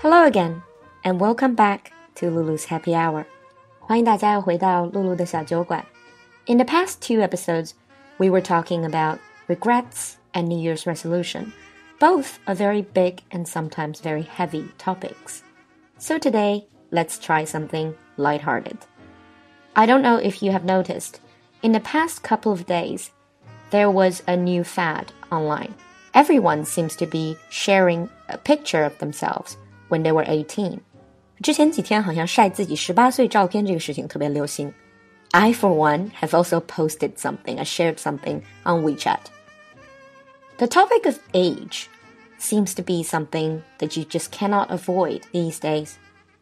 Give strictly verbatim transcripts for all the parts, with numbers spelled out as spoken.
Hello again, and welcome back to Lulu's Happy Hour. 欢迎大家又回到露露的小酒馆。In the past two episodes, we were talking about regrets and New Year's resolution. Both are very big and sometimes very heavy topics. So today, let's try something lighthearted. I don't know if you have noticed, in the past couple of days, there was a new fad online. Everyone seems to be sharing a picture of themselves when they were eighteen. 之前几天好像晒自己十八岁照片这个事情特别流行。I, for one, have also posted something, I shared something on WeChat. The topic of age seems to be something that you just cannot avoid these days.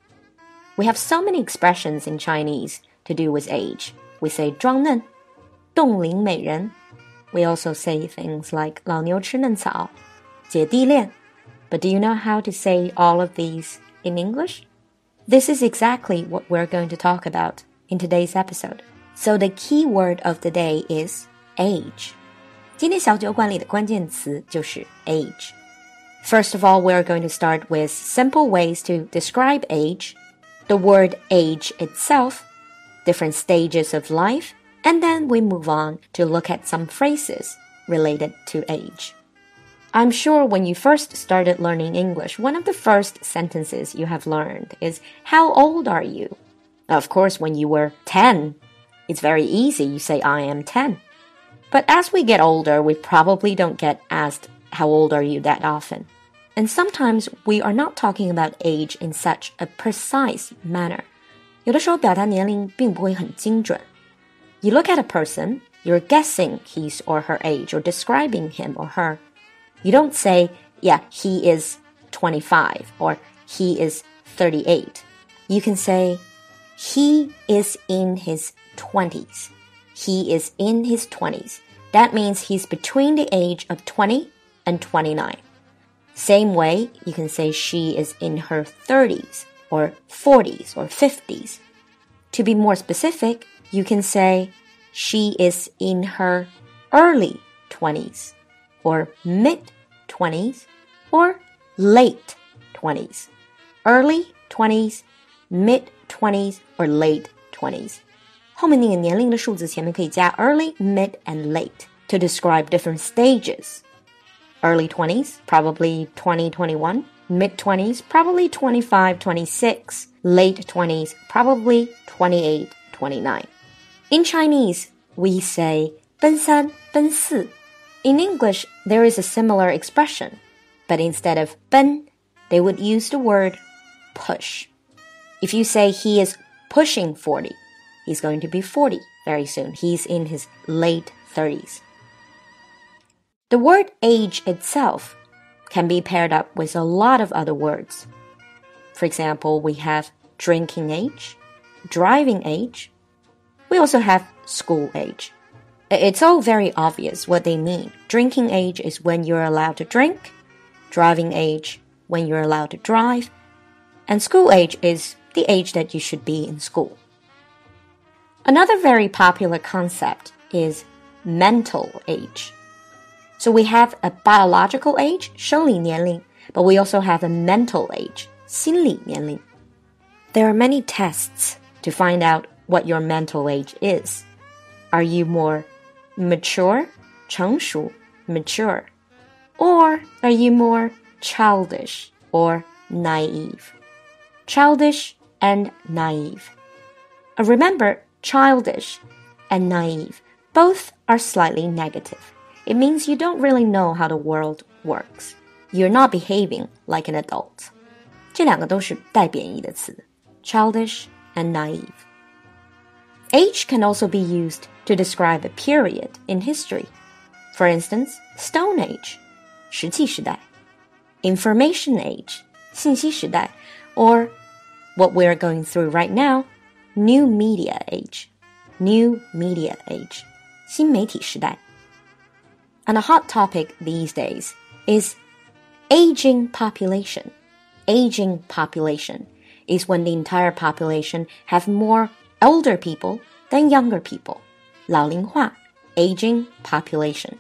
We have so many expressions in Chinese to do with age. We say 装嫩, 冻龄美人. We also say things like 老牛吃嫩草, 姐弟恋. But do you know how to say all of these in English? This is exactly what we're going to talk about in today's episode. So the key word of the day is age. 今天小酒馆里的关键词就是 age. First of all, we're going to start with simple ways to describe age, the word age itself, different stages of life, and then we move on to look at some phrases related to age. I'm sure when you first started learning English, one of the first sentences you have learned is, how old are you? Of course, when you were ten, it's very easy. You say, I am ten. But as we get older, we probably don't get asked, how old are you that often? And sometimes we are not talking about age in such a precise manner. 有的时候表达年龄并不会很精准. You look at a person, you're guessing his or her age or describing him or her. You don't say, yeah, he is twenty-five or he is thirty-eight. You can say, he is in his twenties. He is in his twenties. That means he's between the age of twenty and twenty-nine. Same way, you can say she is in her thirties or forties or fifties. To be more specific, you can say she is in her early twenties or mid-twenties or late twenties. Early twenties, mid-twenties or late twenties. 后面那个年龄的数字前面可以加 early, mid, and late to describe different stages. Early twenties, probably twenty, twenty-one. Mid-twenties, probably twenty-five, twenty-six. Late twenties, probably twenty-eight, twenty-nine. In Chinese, we say 奔三,奔四. In English, there is a similar expression, but instead of 奔, they would use the word push. If you say he is pushing forty, he's going to be forty very soon. He's in his late thirties. The word age itself can be paired up with a lot of other words. For example, we have drinking age, driving age. We also have school age. It's all very obvious what they mean. Drinking age is when you're allowed to drink. Driving age, when you're allowed to drive. And school age is the age that you should be in school. Another very popular concept is mental age. So we have a biological age, 生理年龄, but we also have a mental age, 心理年龄. There are many tests to find out what your mental age is. Are you more mature, 成熟, mature? Or are you more childish or naive? Childish and naive. Uh, remember, childish and naive, both are slightly negative. It means you don't really know how the world works. You're not behaving like an adult. 这两个都是带贬义的词, childish and naive. Age can also be used to describe a period in history. For instance, Stone Age, 石器时代, Information Age, 信息时代, or what we're going through right now, New Media Age, New Media Age, 新媒体时代. And a hot topic these days is aging population. Aging population is when the entire population have more older people than younger people. 老龄化, aging population.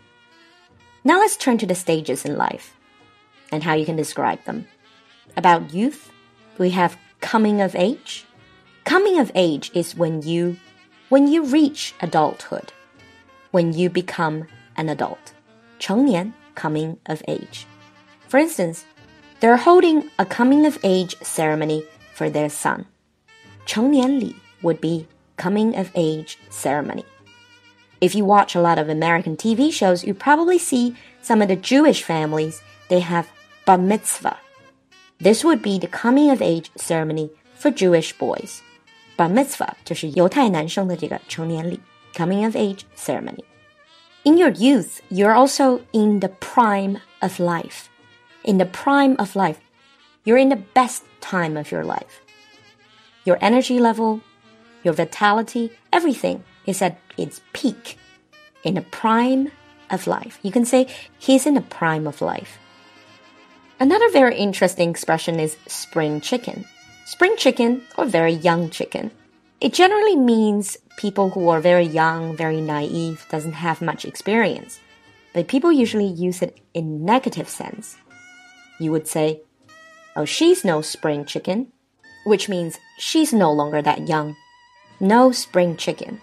Now let's turn to the stages in life and how you can describe them. About youth, We have coming of age. Coming of age is when you, when you reach adulthood, when you become an adult. 成年 coming of age. For instance, they're holding a coming of age ceremony for their son. 成年礼 would be coming of age ceremony. If you watch a lot of American T V shows, you probably see some of the Jewish families, they have bar mitzvah. This would be the coming of age ceremony for Jewish boys. Bar mitzvah 就是犹太男生的这个成年礼 coming of age ceremony. In your youth, you're also in the prime of life. In the prime of life, you're in the best time of your life. Your energy level, your vitality, everything is at its peak. In the prime of life. You can say he's in the prime of life. Another very interesting expression is spring chicken. Spring chicken or very young chicken. It generally means people who are very young, very naive, doesn't have much experience. But people usually use it in negative sense. You would say, oh, she's no spring chicken, which means she's no longer that young. No spring chicken.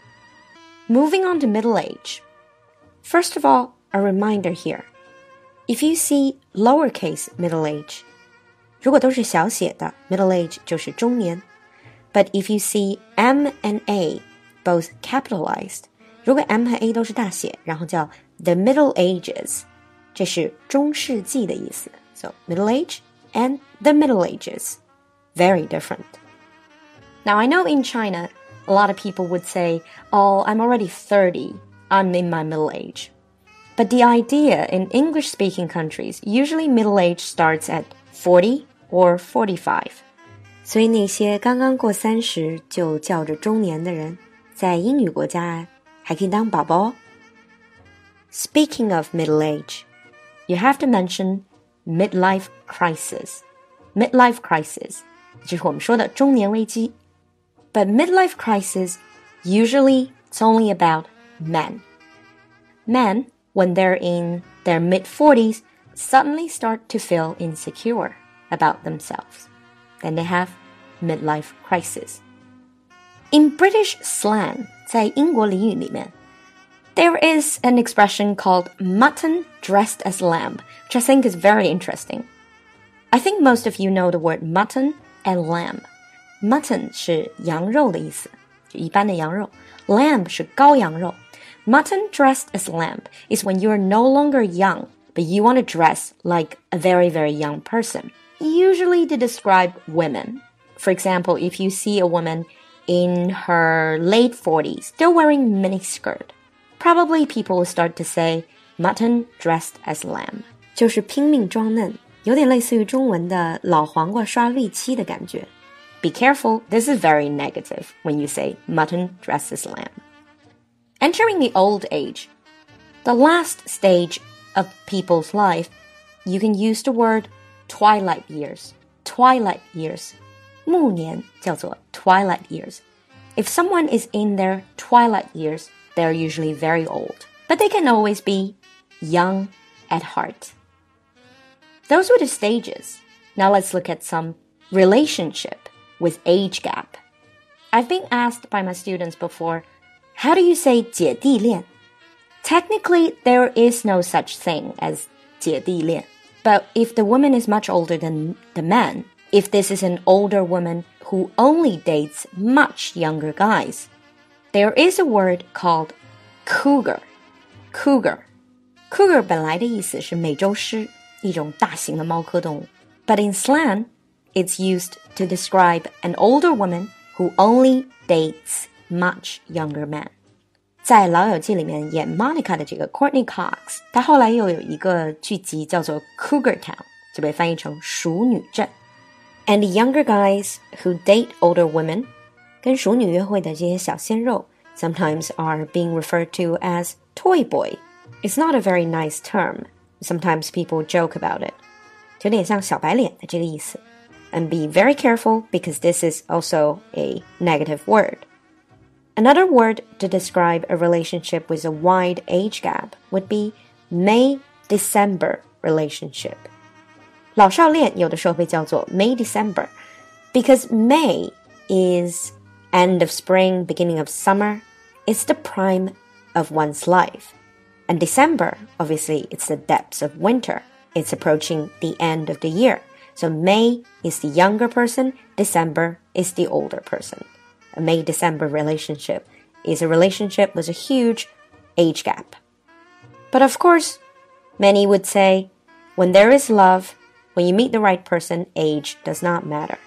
Moving on to middle age. First of all, a reminder here. If you see lowercase middle age, 如果都是小写的 middle age 就是中年 But if you see M and A both capitalized, 如果 M 和 A 都是大写，然后叫 the Middle Ages, 这是中世纪的意思。So Middle Age and the Middle Ages, very different. Now I know in China, a lot of people would say, oh, I'm already thirty, I'm in my middle age. But the idea in English-speaking countries, usually middle age starts at forty or forty-five. 所以那些刚刚过三十就叫着中年的人，在英语国家还可以当宝宝。Speaking of middle age, you have to mention midlife crisis. Midlife crisis, 就是我们说的中年危机。But midlife crisis, usually it's only about men. Men, when they're in their mid-forties, suddenly start to feel insecure about themselves. Then they have midlife crisis. In British slang, 在英国俚语里面 there is an expression called mutton dressed as lamb, which I think is very interesting. I think most of you know the word mutton and lamb. Mutton 是羊肉的意思，就一般的羊肉。Lamb 是羔羊肉。Mutton dressed as lamb is when you're no longer young, but you want to dress like a very, very young person. Usually to describe women. For example, if you see a woman in her late forties still wearing miniskirt, probably people will start to say mutton dressed as lamb. 就是拼命装嫩，有点类似于中文的老黄瓜刷绿漆的感觉。Be careful, this is very negative when you say mutton dressed as lamb. Entering the old age, the last stage of people's life, you can use the word twilight years. Twilight years. 暮年叫做 twilight years. If someone is in their twilight years, they're usually very old. But they can always be young at heart. Those were the stages. Now let's look at some relationship with age gap. I've been asked by my students before, how do you say 姐弟恋? Technically, there is no such thing as 姐弟恋. But if the woman is much older than the man, if this is an older woman who only dates much younger guys, there is a word called cougar. Cougar. Cougar 本来的意思是美洲狮，一种大型的猫科动物。But in slang, it's used to describe an older woman who only dates much younger men. 在《老友记》里面演 Monica 的这个 Courtney Cox， 她后来又有一个剧集叫做 Cougar Town， 就被翻译成熟女镇。And the younger guys who date older women, 跟熟女约会的这些小鲜肉 sometimes are being referred to as toy boy. It's not a very nice term. Sometimes people joke about it. 有点像小白脸的这个意思。And be very careful because this is also a negative word. Another word to describe a relationship with a wide age gap would be May-December relationship. 老少恋有的时候被叫做 May-December, Because May is end of spring, beginning of summer. It's the prime of one's life. And December, obviously, it's the depths of winter. It's approaching the end of the year. So May is the younger person, December is the older person. A May-December relationship is a relationship with a huge age gap. But of course, many would say, when there is love, when you meet the right person, age does not matter.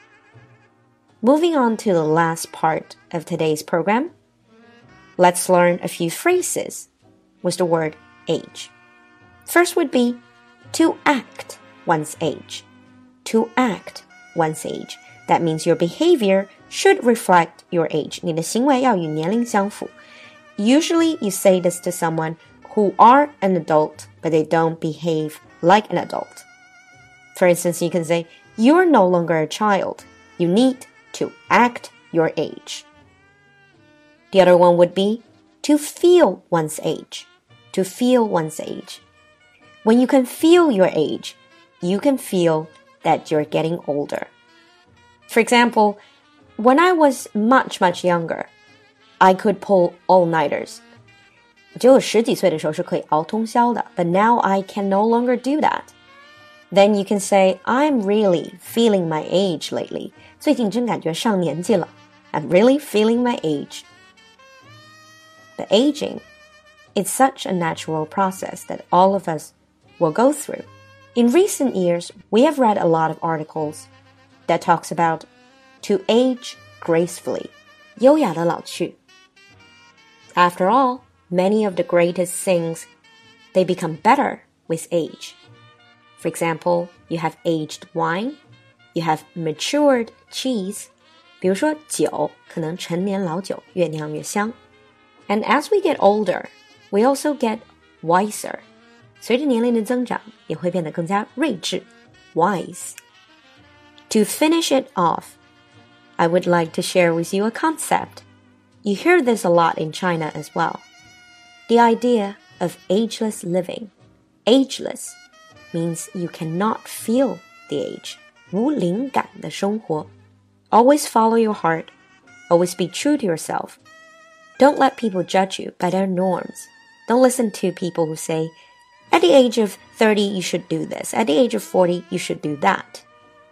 Moving on to the last part of today's program, let's learn a few phrases with the word age. First would be to act one's age. To act one's age. That means your behavior should reflect your age. 你的行为要与年龄相符. Usually you say this to someone who are an adult, but they don't behave like an adult. For instance, you can say, you are no longer a child. You need to act your age. The other one would be to feel one's age. To feel one's age. When you can feel your age, you can feel that you're getting older. For example, when I was much, much younger, I could pull all-nighters. 我觉得我十几岁的时候是可以熬通宵的, but now I can no longer do that. Then you can say, I'm really feeling my age lately. 最近真感觉上年纪了. I'm really feeling my age. But aging, it's such a natural process that all of us will go through. In recent years, we have read a lot of articles that talks about to age gracefully. 优雅地老去. After all, many of the greatest things, they become better with age. For example, you have aged wine, you have matured cheese. 比如说酒可能陈年老酒越酿越香. And as we get older, we also get wiser. 随着年龄的增长，也会变得更加睿智 wise. To finish it off, I would like to share with you a concept. You hear this a lot in China as well. The idea of ageless living. Ageless means you cannot feel the age. 无灵感的生活. Always follow your heart. Always be true to yourself. Don't let people judge you by their norms. Don't listen to people who say, at the age of thirty, you should do this. At the age of forty, you should do that.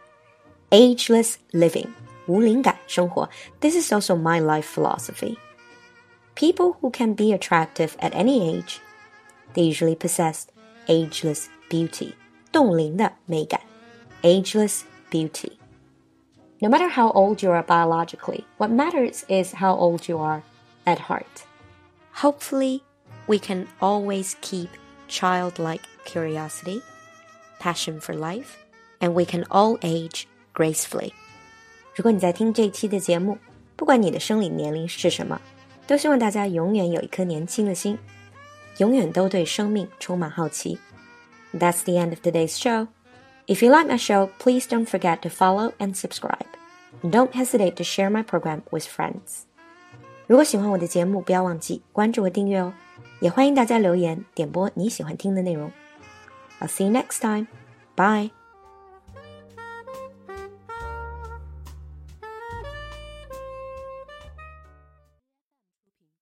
Ageless living. 无灵感生活. This is also my life philosophy. People who can be attractive at any age, they usually possess ageless beauty. 冻龄的美感. Ageless beauty. No matter how old you are biologically, what matters is how old you are at heart. Hopefully, we can always keep childlike curiosity, passion for life, and we can all age gracefully. 如果你在听这一期的节目，不管你的生理年龄是什么，都希望大家永远有一颗年轻的心，永远都对生命充满好奇。That's the end of today's show. If you like my show, please don't forget to follow and subscribe. And don't hesitate to share my program with friends. 如果喜欢我的节目，不要忘记关注和订阅哦。也欢迎大家留言点播你喜欢听的内容。I'll see you next time. Bye.